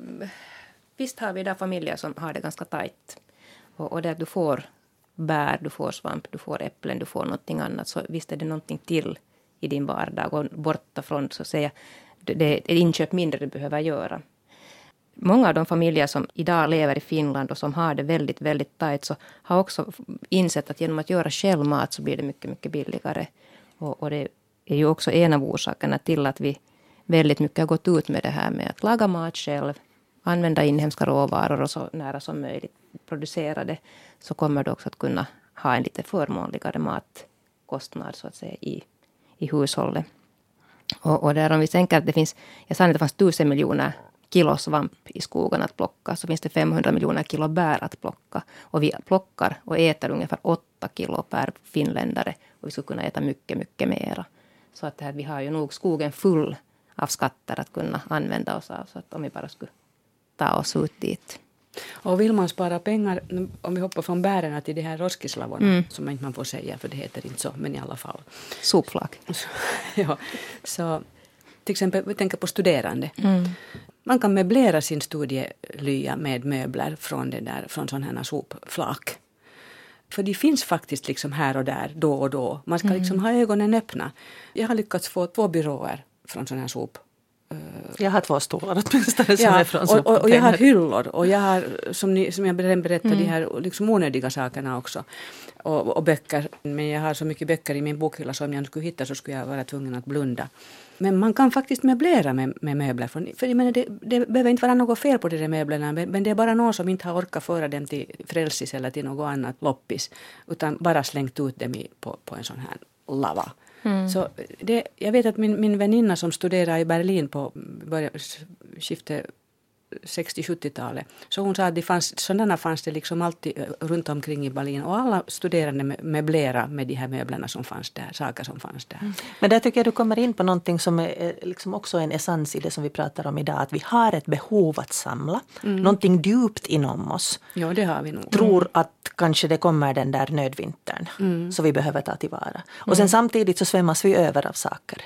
visst har vi där familjer som har det ganska tajt. Och där du får bär, du får svamp, du får äpplen, du får någonting annat. Så visst är det någonting till i din vardag. Och borta från, så att säga, det är ett inköp mindre du behöver göra. Många av de familjer som idag lever i Finland och som har det väldigt, väldigt tajt, så har också insett att genom att göra självmat så blir det mycket, mycket billigare. Och det är ju också en av orsakerna till att vi väldigt mycket har gått ut med det här med att laga mat själv, använda inhemska råvaror och så nära som möjligt producera det, så kommer du också att kunna ha en lite förmånligare matkostnad så att säga i hushållet. Och där om vi tänker att det finns, jag sa att det fanns 1000 miljoner kilo svamp i skogen att plocka, så finns det 500 miljoner kilo bär att plocka. Och vi plockar och äter ungefär 8 kilo per finländare, och vi skulle kunna äta mycket, mycket mera. Så att vi har ju nog skogen full av skatter att kunna använda oss av, så att om vi bara skulle ta oss ut dit. Och vill man spara pengar, om vi hoppar från bären till de här roskislavorna, som inte man får säga, för det heter inte så, men i alla fall. Sopflak. Ja, så till exempel, vi tänker på studerande. Man kan möblera sin studielya med möbler från sådana här sopflak. För det finns faktiskt liksom här och där, då och då. Man ska liksom ha ögonen öppna. Jag har lyckats få 2 byråer från sån här sop. Jag har 2 stolar åtminstone som är från sopcontainer. Och jag har hyllor. Och jag har, som jag berättade, de här liksom onödiga sakerna också. Och böcker. Men jag har så mycket böcker i min bokhylla, så om jag skulle hitta så skulle jag vara tvungen att blunda. Men man kan faktiskt möblera med möbler. För jag menar, det behöver inte vara något fel på de där möblerna. Men det är bara någon som inte har orkat föra dem till Frälsis eller till något annat loppis. Utan bara slängt ut dem på en sån här lava. Så jag vet att min väninna som studerar i Berlin på skiftet 60-70-talet. Så hon sa att sådana fanns det liksom alltid runt omkring i Berlin. Och alla studerande möblera med de här möblerna som fanns där, saker som fanns där. Men där tycker jag du kommer in på någonting som är liksom också en essens i det som vi pratar om idag. Att vi har ett behov att samla. Någonting djupt inom oss. Ja, det har vi nog. Tror att kanske det kommer den där nödvintern. Så vi behöver ta tillvara. Och sen samtidigt så svämmas vi över av saker.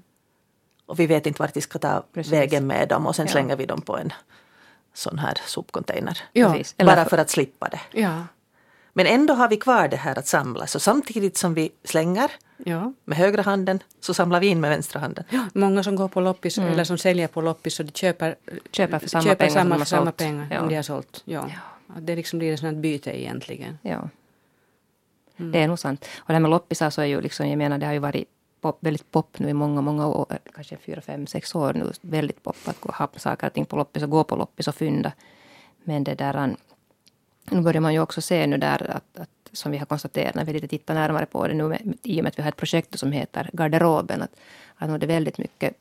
Och vi vet inte vart vi ska ta vägen med dem. Och sen slänger vi dem på en sån här sopcontainer. Ja. Bara för att slippa det. Ja. Men ändå har vi kvar det här att samla. Så samtidigt som vi slänger med högra handen, så samlar vi in med vänstra handen. Ja. Många som går på loppis eller som säljer på loppis, så de köper för samma pengar samma pengar om de har sålt. Ja. Det liksom blir ett sånt byte egentligen. Ja. Det är nog sant. Och det här med loppisar så är ju liksom, jag menar, det har ju varit väldigt pop nu i många år, kanske 4, 5, 6 år nu, väldigt pop att ha saker och ting på loppis och gå på loppis och fynda. Men det där, nu börjar man ju också se nu där att som vi har konstaterat när vi lite tittar närmare på det nu, i och med att vi har ett projekt som heter Garderoben, att nu är det väldigt mycket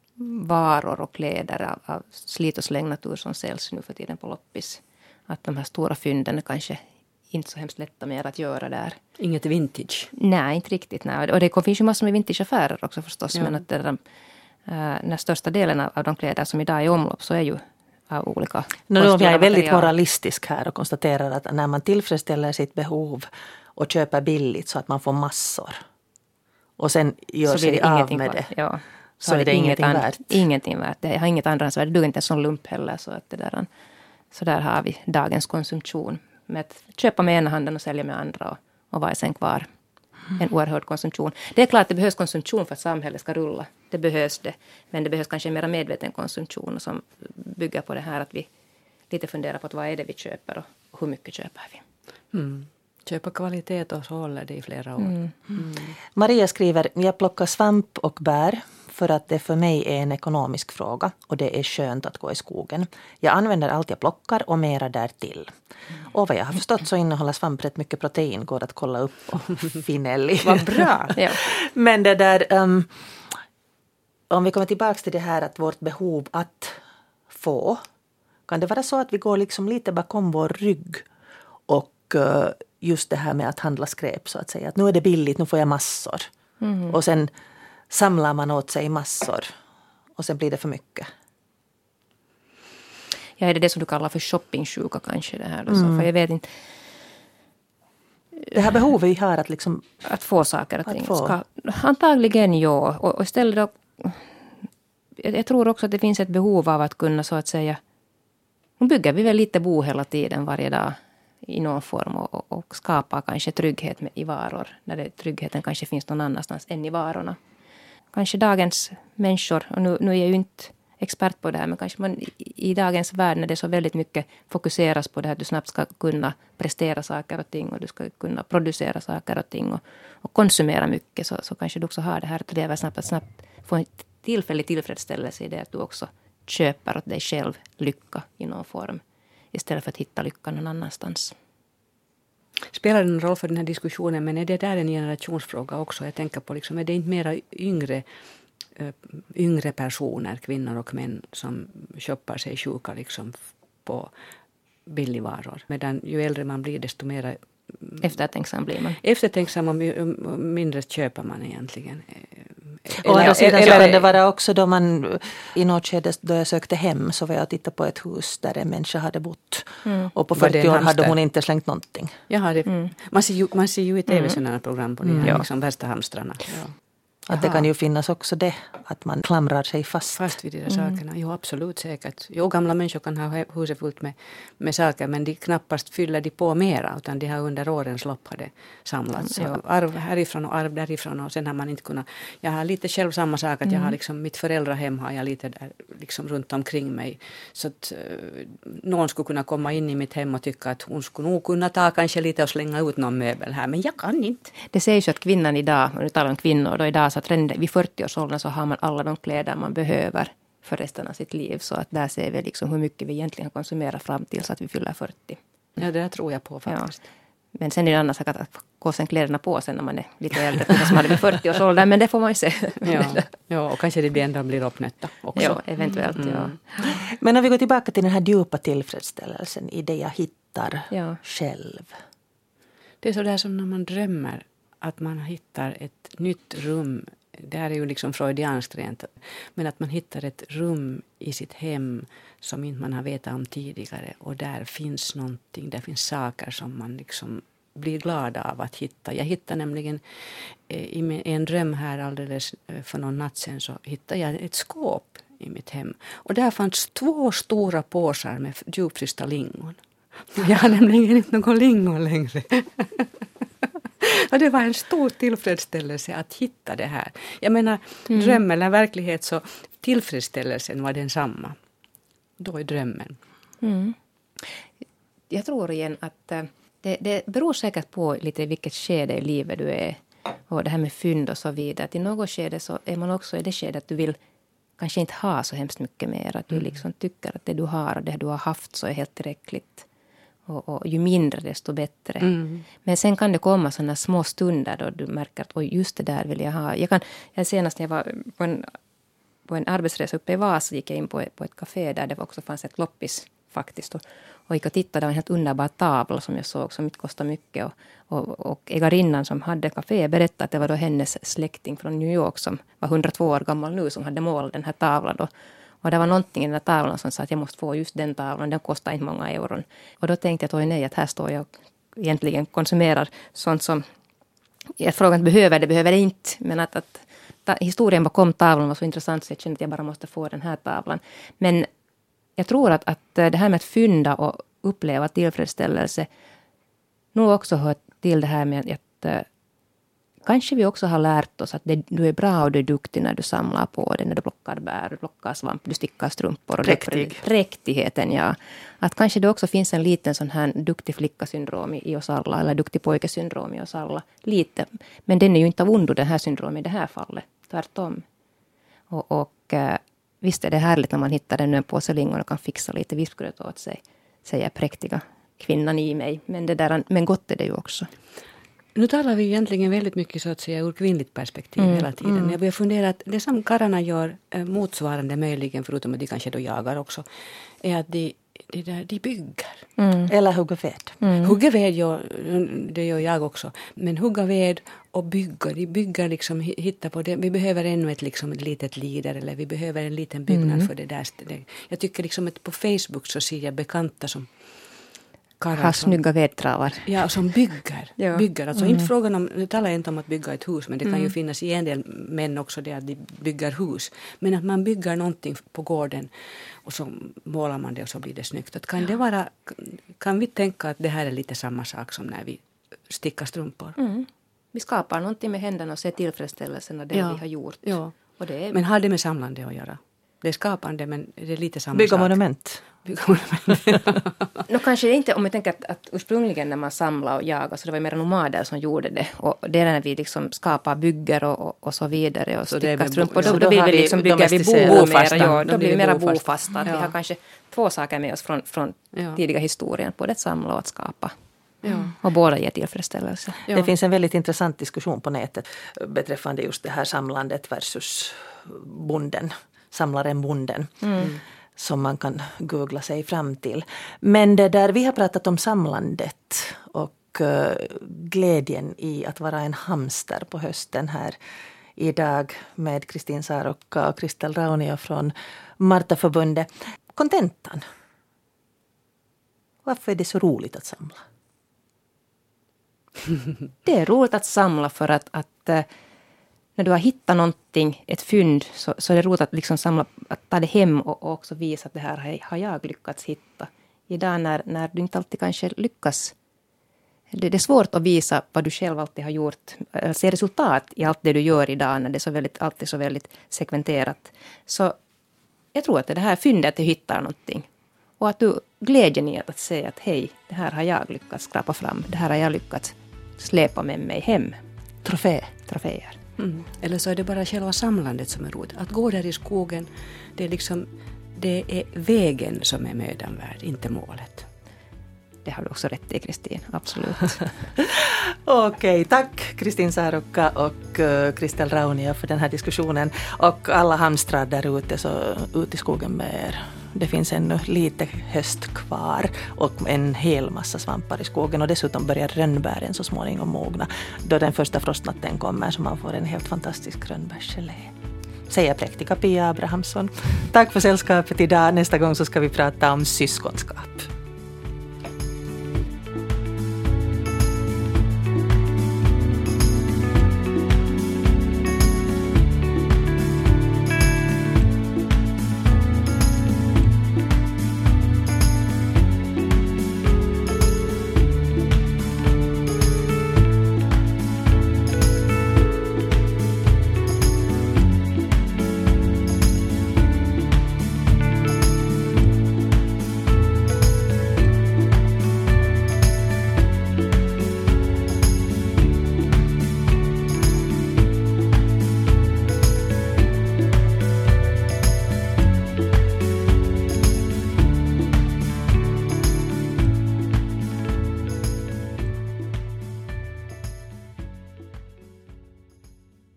varor och kläder av slit- och slängnatur som säljs nu för tiden på loppis. Att de här stora fynden kanske inte så hemskt lätta mer att göra där. Inget vintage? Nej, inte riktigt. Nej. Och det finns ju massor med vintageaffärer också förstås. Ja. Men att den största delen av de kläder som idag är i omlopp så är ju av olika. Jag är väldigt moralistisk här och konstaterar att när man tillfredsställer sitt behov och köper billigt så att man får massor och sen gör sig av med det. Ja. Så är det ingenting värt. Ingenting värt. Det har inget andrahandsvärde. Det är inte en sån lump heller. Så där har vi dagens konsumtion. Med att köpa med ena handen och sälja med andra. Och vad är sen kvar? En oerhörd konsumtion. Det är klart att det behövs konsumtion för att samhället ska rulla. Det behövs det. Men det behövs kanske en mer medveten konsumtion som bygger på det här att vi lite funderar på att vad är det vi köper och hur mycket köper vi. Köpa kvalitet och så håller det i flera år. Maria skriver, jag plockar svamp och bär för att det för mig är en ekonomisk fråga och det är skönt att gå i skogen. Jag använder allt jag plockar och mera därtill. Och vad jag har förstått så innehåller svamp rätt mycket protein, går att kolla upp och finelli. Vad bra! Ja. Men det där, om vi kommer tillbaka till det här att vårt behov att få, kan det vara så att vi går liksom lite bakom vår rygg och just det här med att handla skräp så att säga. Att nu är det billigt, nu får jag massor. Och sen samlar man åt sig massor. Och sen blir det för mycket. Ja, är det som du kallar för shoppingsjuka kanske det här? Så, för jag vet inte. Det här behovet vi har att liksom... Att få saker och ting. Antagligen ja. Och istället då... Jag tror också att det finns ett behov av att kunna så att säga... Nu bygger vi väl lite bo hela tiden varje dag. I någon form och skapa kanske trygghet i varor. När tryggheten kanske finns någon annanstans än i varorna. Kanske dagens människor, och nu är jag ju inte expert på det här, men kanske man i dagens värld när det så väldigt mycket fokuseras på det här att du snabbt ska kunna prestera saker och ting och du ska kunna producera saker och ting och konsumera mycket så kanske du också har det här att leva snabbt, att snabbt få en tillfällig tillfredsställelse i det att du också köper åt dig själv lycka i någon form. Istället för att hitta lyckan någon annanstans. Spelar det någon roll för den här diskussionen, men är det där en generationsfråga också? Jag tänker på, liksom, är det inte mera yngre personer, kvinnor och män, som shoppar sig sjuka liksom, på billigvaror? Medan ju äldre man blir, desto mer eftertänksam blir man. Eftertänksam och mindre köper man egentligen. Å andra sidan så kan det vara också då man i något skede då jag sökte hem så var jag och tittade på ett hus där en människa hade bott. Och på 40 år hade hon inte slängt någonting. Jaha, man ser ju i tv sådana program på de här liksom värsta hamstrarna. Ja. Att det kan ju finnas också det, att man klamrar sig fast vid de där sakerna. Jo, absolut säkert. Jo, gamla människor kan ha huset fullt med saker, men de knappast fyller de på mera, utan de har under årens lopp hade samlats. Arv härifrån och arv därifrån, och sen har man inte kunnat... Jag har lite själv samma sak, att jag har liksom, mitt föräldrahem har jag lite där liksom runt omkring mig. Så att någon skulle kunna komma in i mitt hem och tycka att hon skulle nog kunna ta kanske lite och slänga ut någon möbel här, men jag kan inte. Det sägs ju att kvinnan idag, och nu talar om kvinnor, då idag så att redan vid 40-årsåldern så har man alla de kläder man behöver för resten av sitt liv. Så att där ser vi liksom hur mycket vi egentligen konsumerar fram till så att vi fyller 40. Ja, det där tror jag på faktiskt. Ja. Men sen är det en annan sak att gå sen kläderna på sen när man är lite äldre. Som hade vid 40-årsåldern, men det får man ju se. Ja, och kanske det ändå blir uppnötta också. Ja, eventuellt, ja. Men om vi går tillbaka till den här djupa tillfredsställelsen i det jag hittar själv. Det är så där som när man drömmer att man hittar ett nytt rum. Det här är ju liksom freudianskt rent. Men att man hittar ett rum i sitt hem som inte man har vetat om tidigare. Och där finns någonting, där finns saker som man liksom blir glad av att hitta. Jag hittade nämligen i en dröm här alldeles för någon natt sedan, så hittade jag ett skåp i mitt hem. Och där fanns 2 stora påsar med djupfrysta lingon. Jag har nämligen inte någon lingon längre. Och det var en stor tillfredsställelse att hitta det här. Jag menar, dröm eller verklighet, så tillfredsställelsen var densamma. Då är drömmen. Jag tror igen att det beror säkert på lite vilket skede i livet du är. Och det här med fynd och så vidare. Att i något skede så är man också i det skedet att du vill kanske inte ha så hemskt mycket mer. Att du liksom tycker att det du har och det du har haft så är helt tillräckligt. Och ju mindre desto bättre. Men sen kan det komma sådana små stunder då du märker att just det där vill jag ha. Jag senast när jag var på en arbetsresa uppe i Vasa gick jag in på ett café där det också fanns ett loppis faktiskt. Och gick och tittade, det var en helt underbar tavla som jag såg som inte kostade mycket. Och ägarinnan som hade café berättade att det var då hennes släkting från New York som var 102 år gammal nu som hade målat den här tavlan då. Och det var någonting i den här tavlan som sa att jag måste få just den tavlan, den kostar inte många euron. Och då tänkte jag att att här står jag och egentligen konsumerar sånt som jag frågar inte behöver det inte. Men att historien bakom tavlan var så intressant så jag kände att jag bara måste få den här tavlan. Men jag tror att det här med att fynda och uppleva tillfredsställelse nog också hör till det här med att kanske vi också har lärt oss att du är bra och du är duktig när du samlar på det, när du plockar bär, du plockar svamp, du stickar strumpor. Och präktigheten, ja. Att kanske det också finns en liten sån här duktig flicka-syndrom i oss alla, eller duktig pojke-syndrom i oss alla. Lite. Men den är ju inte av ondo, den här syndromen i det här fallet. Tvärtom. Och visst är det härligt när man hittar en påse lingon och kan fixa lite vispgröt åt sig, säger präktiga kvinnan i mig. Men gott är det ju också. Nu talar vi egentligen väldigt mycket så att säga ur kvinnligt perspektiv hela tiden. Jag börjar fundera att det som karlarna gör motsvarande möjligen, förutom att de kanske då jagar också, är att de bygger. Eller hugger ved. Hugger ved, ja, det gör jag också. Men hugga ved och bygga. De bygger liksom, hitta på det. Vi behöver ännu ett litet lider eller vi behöver en liten byggnad för det där. Jag tycker liksom att på Facebook så ser jag bekanta som har snygga vedtravar. Ja, som bygger. Alltså inte frågan om, nu talar jag inte om att bygga ett hus, men det kan ju finnas i en del män också det att de bygger hus. Men att man bygger någonting på gården och så målar man det och så blir det snyggt. Att kan vi tänka att det här är lite samma sak som när vi stickar strumpor? Vi skapar någonting med händerna och ser tillfredsställelsen av det vi har gjort. Ja. Och det är... Men har det med samlande att göra? Det är skapande, men det är lite samma Bygga sak. monument. Kanske det inte, om jag tänker att ursprungligen när man samlade och jagade så det var mer nomader som gjorde det. Och det är när vi liksom skapar bygger och så vidare och stickar strumpor. Då vill vi liksom bygga vid bofasta. Ja, då blir vi mera bofasta. Vi har kanske två saker med oss från tidiga historien. Både att samla och att skapa. Ja. Och båda ger tillfredsställelse. Ja. Det finns en väldigt intressant diskussion på nätet beträffande just det här samlandet versus bonden. Samlaren bonden. Som man kan googla sig fram till. Men det där vi har pratat om samlandet och glädjen i att vara en hamster på hösten här idag med Kristin Saarokka och Kristel Raunio från Martaförbundet. Kontentan. Varför är det så roligt att samla? Det är roligt att samla för att när du har hittat någonting, ett fynd, så är det roligt att liksom samla, att ta det hem och också visa att det här har jag lyckats hitta. Idag när du inte alltid kanske lyckas, det är svårt att visa vad du själv alltid har gjort, se resultat i allt det du gör idag när det är alltid så väldigt segmenterat. Så jag tror att det här fyndet att du hittar någonting och att du glädjen i att säga att hej, det här har jag lyckats skrapa fram, det här har jag lyckats släpa med mig hem. Troféer. Eller så är det bara själva samlandet som är roligt. Att gå där i skogen, det är vägen som är mödan värd, inte målet. Det har du också rätt i, Kristin. Absolut. Okej, tack Kristin Saarokka och Kristel Raunio för den här diskussionen. Och alla hamstrar där ute, så ut i skogen med er. Det finns ännu lite höst kvar och en hel massa svampar i skogen. Och dessutom börjar rönnbären så småningom mogna då den första frostnatten kommer, så man får en helt fantastisk rönnbärsgelé. Säger präktiga Pia Abrahamsson. Tack för sällskapet idag. Nästa gång så ska vi prata om syskonskap.